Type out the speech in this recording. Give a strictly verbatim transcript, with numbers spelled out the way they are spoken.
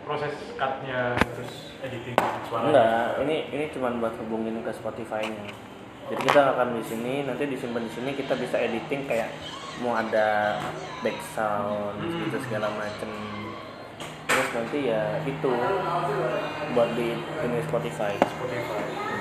proses cutnya terus editing suara? Enggak, ini ini cuma buat hubungin ke Spotify-nya. Jadi kita akan di sini, nanti disimpan di sini, kita bisa editing kayak mau ada back sound hmm. gitu segala macem. Terus nanti ya itu buat di ini Spotify. Spotify.